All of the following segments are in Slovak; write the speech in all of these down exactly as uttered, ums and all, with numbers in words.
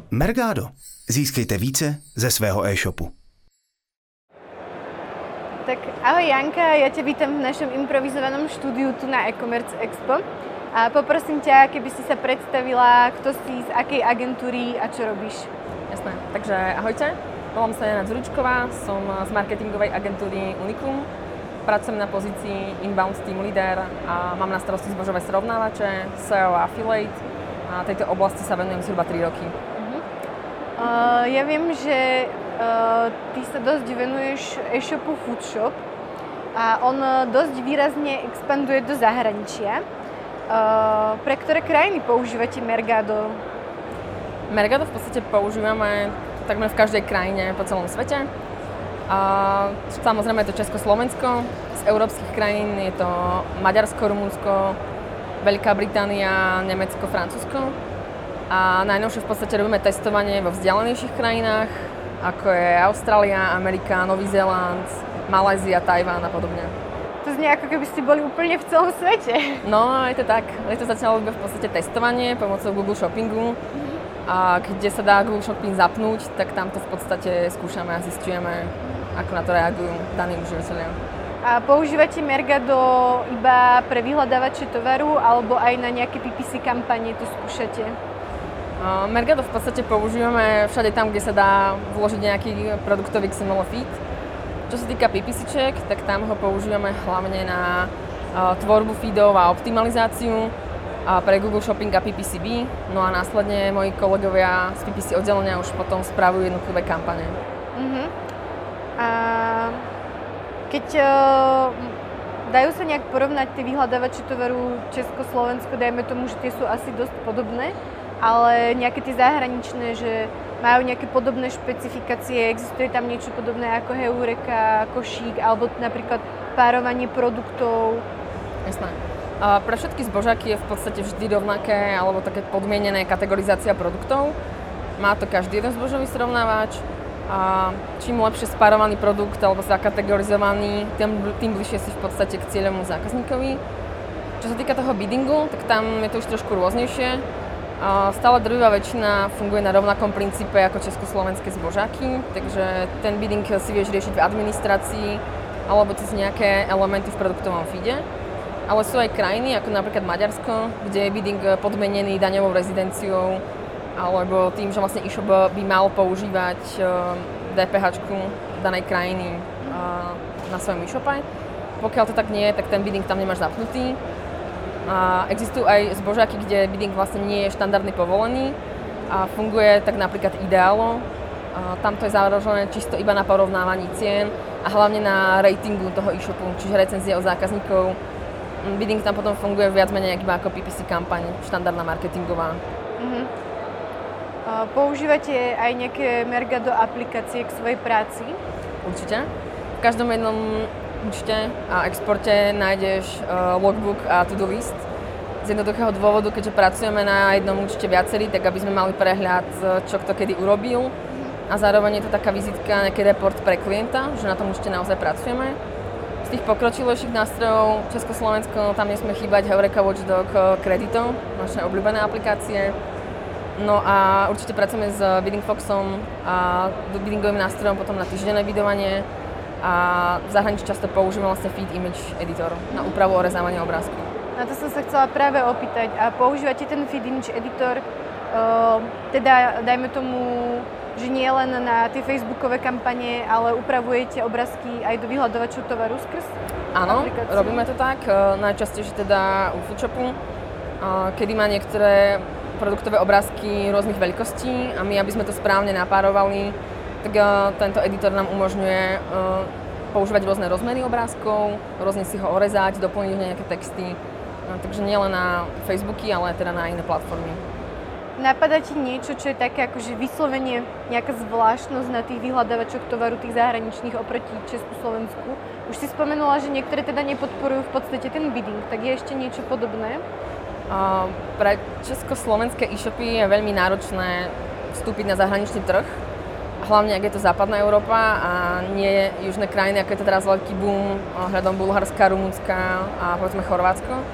Mergado. Získejte více ze svého e-shopu. Tak ahoj Janka, ja ťa vítam v našom improvizovanom štúdiu tu na e-commerce expo. A poprosím ťa, keby si sa predstavila, kto si, z akej agentúry a čo robíš. Jasné, takže ahojte, volám sa Jana Dzurčková, som z marketingovej agentúry Unicum. Pracujem na pozícii Inbound Team Leader a mám na starosti zbožové srovnávače, es e o a Affiliate. A tejto oblasti sa venujem zhruba tri roky. Uh-huh. Uh, ja viem, že uh, ty sa dosť venuješ e-shopu Foodshop a on dosť výrazne expanduje do zahraničia. Uh, pre ktoré krajiny používate Mergado? Mergado v podstate používame takmer v každej krajine po celom svete. A samozrejme je to Československo, z európskych krajín je to Maďarsko, Rumunsko, Veľká Británia, Nemecko, Francúzsko. A najnovšie v podstate robíme testovanie vo vzdialenejších krajinách, ako je Austrália, Amerika, Nový Zéland, Malajzia, Tajván a podobne. To znie ako keby ste boli úplne v celom svete. No, je to tak. Je to začalo v podstate testovanie pomocou Google Shoppingu. A kde sa dá Google Shopping zapnúť, tak tam to v podstate skúšame a zisťujeme, ako na to reagujú daní užívateľia. A používate Mergado iba pre vyhľadávače tovaru alebo aj na nejaké pé pé cé kampanie to skúšate? Uh, Mergado v podstate používame všade tam, kde sa dá vložiť nejaký produktový iks em el feed. Čo sa týka PPCček, tak tam ho používame hlavne na uh, tvorbu feedov a optimalizáciu a pre Google Shopping a pé pé cé bé. No a následne moji kolegovia z pé pé cé oddelenia už potom spravujú jednotlivé kampane. Uh-huh. A keď uh, dajú sa nejak porovnať tie vyhľadávače tovaru Česko-Slovensko, dajme tomu, že tie sú asi dosť podobné, ale nejaké tie zahraničné, že majú nejaké podobné špecifikácie, existuje tam niečo podobné ako Heureka, košík, alebo napríklad párovanie produktov? Jasné. A pre všetky zbožáky je v podstate vždy rovnaké, alebo také podmienené kategorizácia produktov. Má to každý jeden zbožový srovnávač. A čím lepšie spárovaný produkt alebo zakategorizovaný, tým, tým bližšie si v podstate k cieľovému zákazníkovi. Čo sa týka toho biddingu, tak tam je to už trošku rôznejšie. A stále drvivá väčšina funguje na rovnakom princípe ako československé zbožáky, takže ten bidding si vieš riešiť v administrácii alebo cez nejaké elementy v produktovom feede. Ale sú aj krajiny, ako napríklad Maďarsko, kde je bidding podmienený daňovou rezidenciou alebo tým, že vlastne e-shop by mal používať dé pé háčku danej krajiny na svojom e-shope. Pokiaľ to tak nie je, tak ten bidding tam nemáš zapnutý. A existujú aj zbožáky, kde bidding vlastne nie je štandardne povolený a funguje tak napríklad Idealo. Tam to je založené čisto iba na porovnávaní cien a hlavne na ratingu toho e-shopu, čiže recenzie od zákazníkov. Bidding tam potom funguje viac menej iba ako pé pé cé kampaň, štandardná marketingová. Uh-huh. Používate aj nejaké Mergado aplikácie k svojej práci? Určite. V každom jednom účte a exporte nájdeš uh, logbook a to-do list. Z jednoduchého dôvodu, keďže pracujeme na jednom účte viacerí, tak aby sme mali prehľad, čo kto kedy urobil. A zároveň je to taká vizitka, nejaký report pre klienta, že na tom účte naozaj pracujeme. Z tých pokročilejších nástrojov Československo, tam nesmie chýbať Heureka Watchdog Credito, naše obľúbené aplikácie. No a určite pracujeme s Bidding Foxom a biddingovým nástrojom potom na týždenné bidovanie a v zahraničí často používame vlastne Feed Image Editor na úpravu a rezávanie obrázkov. Na to som sa chcela práve opýtať. A používate ten Feed Image Editor, uh, teda dajme tomu, že nie len na tie facebookové kampane, ale upravujete obrázky aj do vyhľadovačov tovaru skrz Áno, aplikáciu? robíme to tak, uh, najčastejšie teda u Foodshopu, uh, kedy má niektoré produktové obrázky rôznych veľkostí a my, aby sme to správne napárovali, tak uh, tento editor nám umožňuje uh, používať rôzne rozmery obrázkov, rôzne si ho orezať, doplniť nejaké texty. No, takže nielen na Facebooky, ale teda na iné platformy. Napadá ti niečo, čo je také akože vyslovene nejaká zvláštnosť na tých vyhľadávačoch tovaru tých zahraničných oproti Česku-Slovensku? Už si spomenula, že niektoré teda nepodporujú v podstate ten bidding, tak je ešte niečo podobné? Uh, pre československé e-shopy je veľmi náročné vstúpiť na zahraničný trh, hlavne ak je to západná Európa a nie južné krajiny, ako je to teraz veľký boom hľadom Bulharska, Rumunska a povedzme Chorvátsko.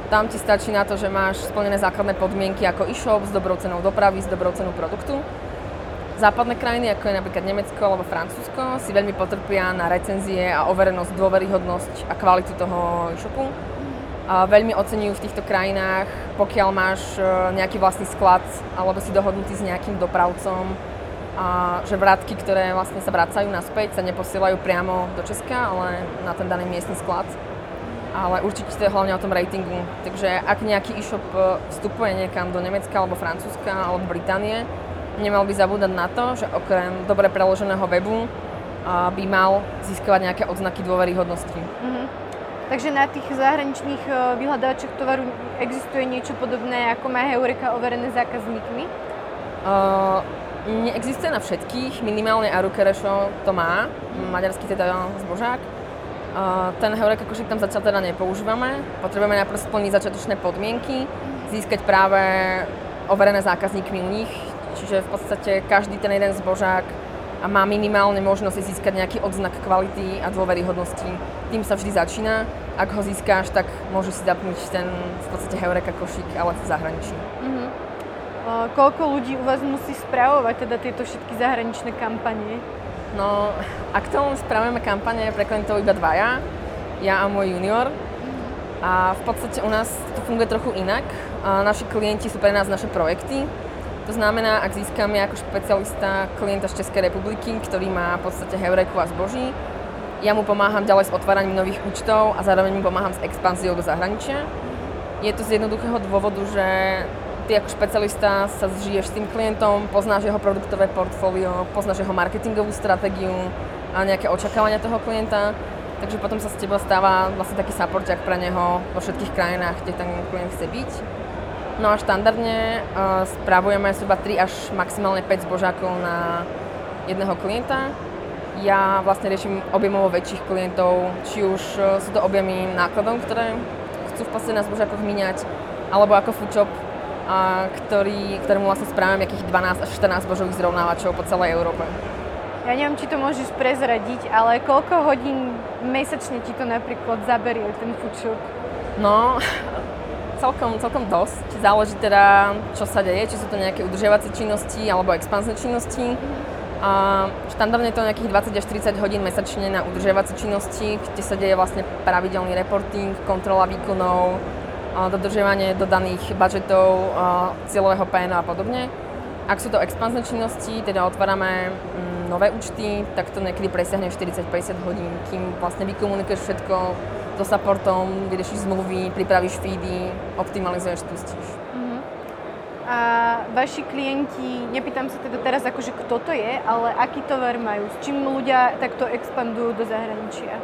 Tam ti stačí na to, že máš splnené základné podmienky ako e-shop s dobrou cenou dopravy, s dobrou cenou produktu. Západné krajiny, ako je napríklad Nemecko alebo Francúzsko, si veľmi potrpia na recenzie a overenosť, dôveryhodnosť a kvalitu toho e-shopu. A veľmi oceňujú v týchto krajinách, pokiaľ máš nejaký vlastný sklad alebo si dohodnutý s nejakým dopravcom, a že vrátky, ktoré vlastne sa vracajú naspäť, sa neposielajú priamo do Česka, ale na ten daný miestny sklad. Ale určite to je hlavne o tom ratingu. Takže ak nejaký e-shop vstupuje niekam do Nemecka alebo Francúzska alebo Británie, nemal by zabúdať na to, že okrem dobre preloženého webu by mal získavať nejaké odznaky dôveryhodnosti. Mm-hmm. Takže na tých zahraničných vyhľadávačoch tovaru existuje niečo podobné, ako má Heureka overené zákazníkmi? Uh, neexistuje na všetkých, minimálne Arukerešo to má, maďarský teda zbožák. Uh, ten Heureka košík tam zatiaľ teda nepoužívame. Potrebujeme najprv splniť začiatočné podmienky, získať práve overené zákazníkmi u nich. Čiže v podstate každý ten jeden zbožák má minimálne možnosť získať nejaký odznak kvality a dôveryhodnosti. Tým sa vždy začína. Ak ho získáš, tak môžeš si zapnúť ten v podstate Heureka košík, ale v zahraničí. Uh-huh. Uh, koľko ľudí u vás musí spravovať teda tieto všetky zahraničné kampanie? No, aktuálne spravujeme kampane pre klientov iba dvaja, ja a môj junior. A v podstate u nás to funguje trochu inak. A naši klienti sú pre nás naše projekty. To znamená, ak získame ako špecialista klienta z Českej republiky, ktorý má v podstate Heureku a zboží, ja mu pomáham ďalej s otváraním nových účtov a zároveň mu pomáham s expanziou do zahraničia. Je to z jednoduchého dôvodu, že ty ako špecialista sa zžiješ s tým klientom, poznáš jeho produktové portfólio, poznáš jeho marketingovú stratégiu a nejaké očakávania toho klienta. Takže potom sa z teba stáva vlastne taký supporťák pre neho vo všetkých krajinách, kde ten klient chce byť. No a štandardne uh, spravujeme zhruba tri až maximálne päť zbožákov na jedného klienta. Ja vlastne riešim objemovo väčších klientov, či už uh, sú to objemy nákladov, ktoré chcú v podstate na zbožákoch míňať, alebo ako foodshop, a ktorý, ktorému vlastne spravím nejakých dvanásť až štrnásť zbožových zrovnávačov po celej Európe. Ja neviem, či to môžeš prezradiť, ale koľko hodín mesačne ti to napríklad zaberie ten foodshop? No, celkom, celkom dosť. Záleží teda, čo sa deje, či sú to nejaké udržiavacie činnosti alebo expanzné činnosti. A štandardne je to nejakých dvadsať až tridsať hodín mesačne na udržiavacie činnosti, kde sa deje vlastne pravidelný reporting, kontrola výkonov, dodržiavanie dodaných budžetov, cieľového pé en a podobne. Ak sú to expanzné činnosti, teda otvárame mm, nové účty, tak to niekedy presiahne štyridsať až päťdesiat hodín, kým vlastne vykomunikuješ všetko so supportom, vyriešiš zmluvy, pripravíš feedy, optimalizuješ, spustíš. Uh-huh. A vaši klienti, nepýtam sa teda teraz akože kto to je, ale aký tovar majú? S čím ľudia takto expandujú do zahraničia?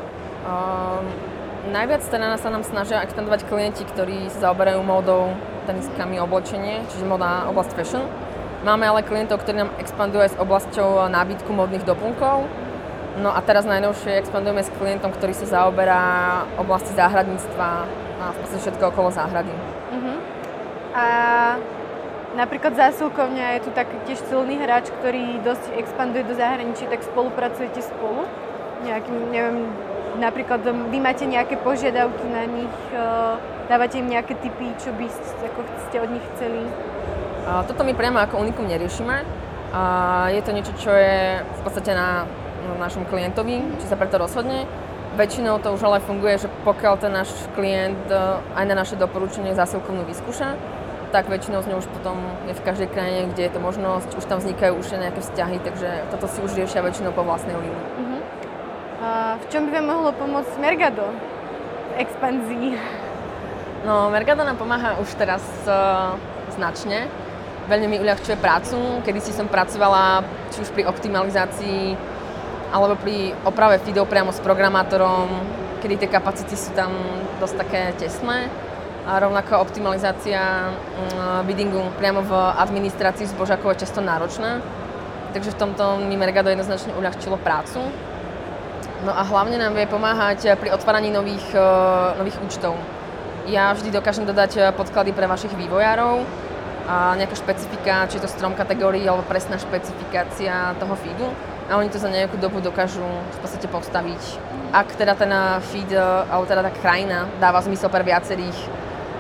Um, Najviac teda sa nám snažia expandovať klienti, ktorí sa zaoberajú módou, teniskami, oblečenie, čiže moda, oblasť fashion. Máme ale klientov, ktorí nám expandujú aj s oblasťou nábytku módnych doplnkov. No a teraz najnovšie expandujeme s klientom, ktorý sa zaoberá oblasti záhradníctva a v podstate všetko okolo záhrady. Uh-huh. A napríklad zásilkovňa je tu tak tiež silný hráč, ktorý dosť expanduje do zahraničí, tak spolupracujete spolu? Nejakým, neviem, napríklad vy máte nejaké požiadavky na nich, dávate im nejaké tipy, čo by ste, ako ste od nich chceli? A toto my priamo ako Unikum neriešime. A je to niečo, čo je v podstate na, na našom klientovi, či sa preto rozhodne. Väčšinou to už ale funguje, že pokiaľ ten náš klient aj na naše doporučenie zásilkovnú vyskúša, tak väčšinou z ňou už potom je v každej krajine, kde je to možnosť, už tam vznikajú už nejaké vzťahy, takže toto si už riešia väčšinou po vlastnej línii. Uh-huh. A v čom by vám mohlo pomôcť Mergado v expanzii? No, Mergado nám pomáha už teraz uh, značne. Veľmi mi uľahčuje prácu. Kedysi som pracovala či už pri optimalizácii alebo pri oprave feedov priamo s programátorom, kedy tie kapacity sú tam dosť také tesné. A rovnako optimalizácia uh, biddingu priamo v administrácii zbožákov je často náročná. Takže v tomto mi Mergado jednoznačne uľahčilo prácu. No a hlavne nám vie pomáhať pri otváraní nových, uh, nových účtov. Ja vždy dokážem dodať podklady pre vašich vývojárov a nejaká špecifika, či je to strom kategórií alebo presná špecifikácia toho feedu. A oni to za nejakú dobu dokážu v podstate postaviť. Ak teda ten feed, alebo teda tá krajina dáva zmysel pre viacerých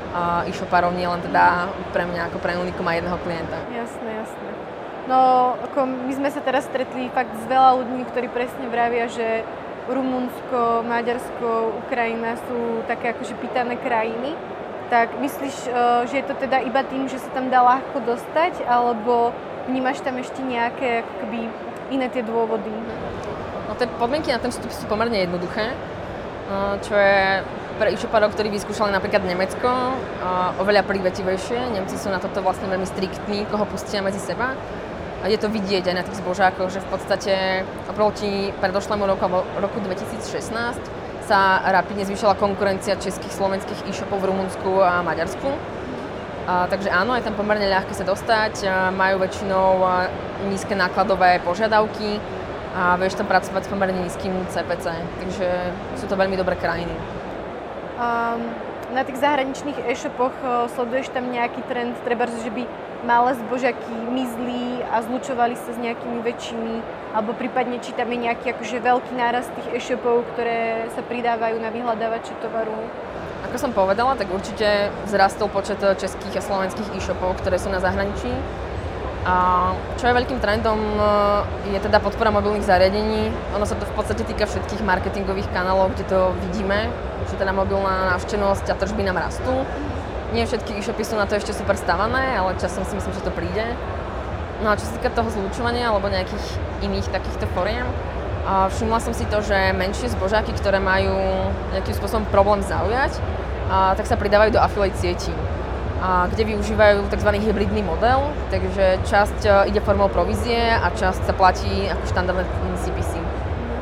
uh, e-shopárov, nie len teda pre mňa ako pre Unikum a jedného klienta. Jasné, jasné. No, ako my sme sa teraz stretli fakt s veľa ľuďmi, ktorí presne vravia, že Rumunsko, Maďarsko, Ukrajina sú také akože pýtané krajiny. Tak myslíš, že je to teda iba tým, že sa tam dá ľahko dostať, alebo vnímaš tam ešte nejaké akoby iné tie dôvody? No tie podmienky na ten vstup sú pomerne jednoduché, čo je pre e-shopárov, ktorí vyskúšali napríklad Nemecko, oveľa prívetivejšie. Nemci sú na toto vlastne veľmi striktní, koho pustia medzi seba. A je to vidieť aj na tých zbožákoch, že v podstate oproti predošlému roku, roku dvetisícšestnásť sa rapidne zvýšila konkurencia českých, slovenských e-shopov v Rumunsku a Maďarsku. A, takže áno, je tam pomerne ľahké sa dostať, a majú väčšinou nízke nákladové požiadavky a vieš tam pracovať s pomerne nízkym cé pé cé, takže sú to veľmi dobré krajiny. Um, na tých zahraničných e-shopoch sleduješ tam nejaký trend, treba, že by malé zbožaky mizli a zlučovali sa s nejakými väčšími, alebo prípadne či tam je nejaký akože veľký nárast tých e-shopov, ktoré sa pridávajú na vyhľadávače tovaru? Ako som povedala, tak určite vzrastol počet českých a slovenských e-shopov, ktoré sú na zahraničí. A čo je veľkým trendom, je teda podpora mobilných zariadení. Ono sa to v podstate týka všetkých marketingových kanálov, kde to vidíme, že teda mobilná návštevnosť a tržby nám rastú. Nie všetky e-shopy sú na to ešte super stavané, ale časom si myslím, že to príde. No a čo sa týka toho zlúčovania alebo nejakých iných takýchto foriem, všimla som si to, že menšie zbožáky, ktoré majú nejakým spôsobom problém zaujať, tak sa pridávajú do affiliate sietí, kde využívajú tzv. Hybridný model, takže časť ide formou provízie a časť sa platí ako štandardné cé pé cé.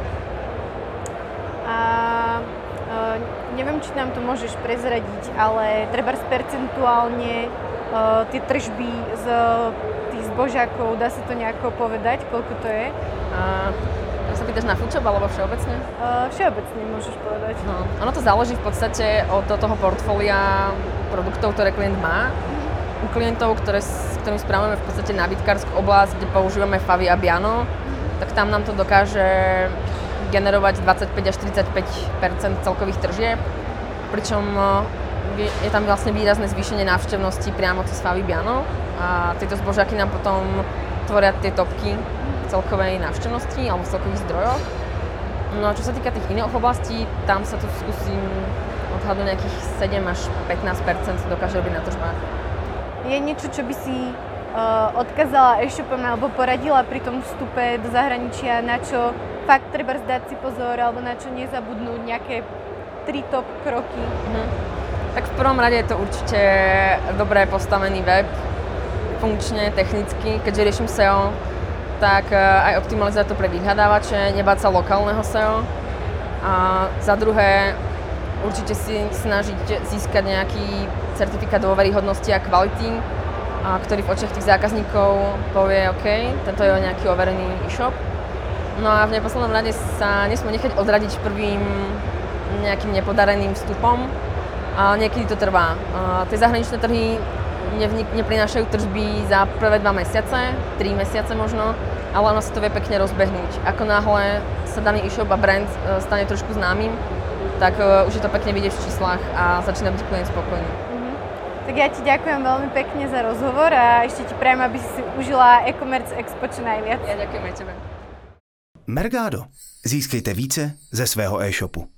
A uh, neviem, či nám to môžeš prezradiť, ale trebárs percentuálne uh, tie tržby z tých zbožákov, dá sa to nejako povedať, koľko to je? Uh, sa pýtaš na foodshop alebo všeobecne? Uh, všeobecne môžeš povedať. No, ono to záleží v podstate od toho portfólia produktov, ktoré klient má. U klientov, ktoré, s ktorými správame v podstate nábytkárskú oblasť, kde používame Favy a Biano, tak tam nám to dokáže generovať dvadsaťpäť až tridsaťpäť percent celkových tržieb, pričom je tam vlastne výrazné zvýšenie návštevnosti priamo cez Favy Biano a tieto zbožáky nám potom tvoria tie topky celkovej návštevnosti alebo celkových zdrojoch. No a čo sa týka tých iných oblastí, tam sa tu skúsim odhadnúť nejakých sedem až pätnásť percent dokáže robiť na tržbách. Je niečo, čo by si uh, odkázala e-shopom alebo poradila pri tom vstupe do zahraničia, na čo fakt treba zdať si pozor alebo na čo nezabudnúť, nejaké tri top kroky? Mhm. Tak v prvom rade je to určite dobre postavený web, funkčne, technicky, keďže riešim es e o, tak aj optimalizovať to pre vyhľadávače, nebáť sa lokálneho es e o. A za druhé, určite si snažiť získať nejaký certifikát dôveryhodnosti a kvality, a ktorý v očiach tých zákazníkov povie OK, tento je nejaký overený e-shop. No a v neposlednom rade sa nesmú nechať odradiť prvým nejakým nepodareným vstupom. A niekedy to trvá. A tie zahraničné trhy nevnik- neprinášajú tržby za prvé dva mesiace, tri mesiace možno, ale ono sa to vie pekne rozbehnúť. Ako náhle sa daný e-shop a brand stane trošku známym, tak uh, už je to pekne vidieť v číslach a začína byť klient spokojný. Uh-huh. Tak ja ti ďakujem veľmi pekne za rozhovor a ešte ti prajem, aby si užila e-commerce expo čo najviac. Ja ďakujem aj tebe. Mergado. Získejte více ze svého e-shopu.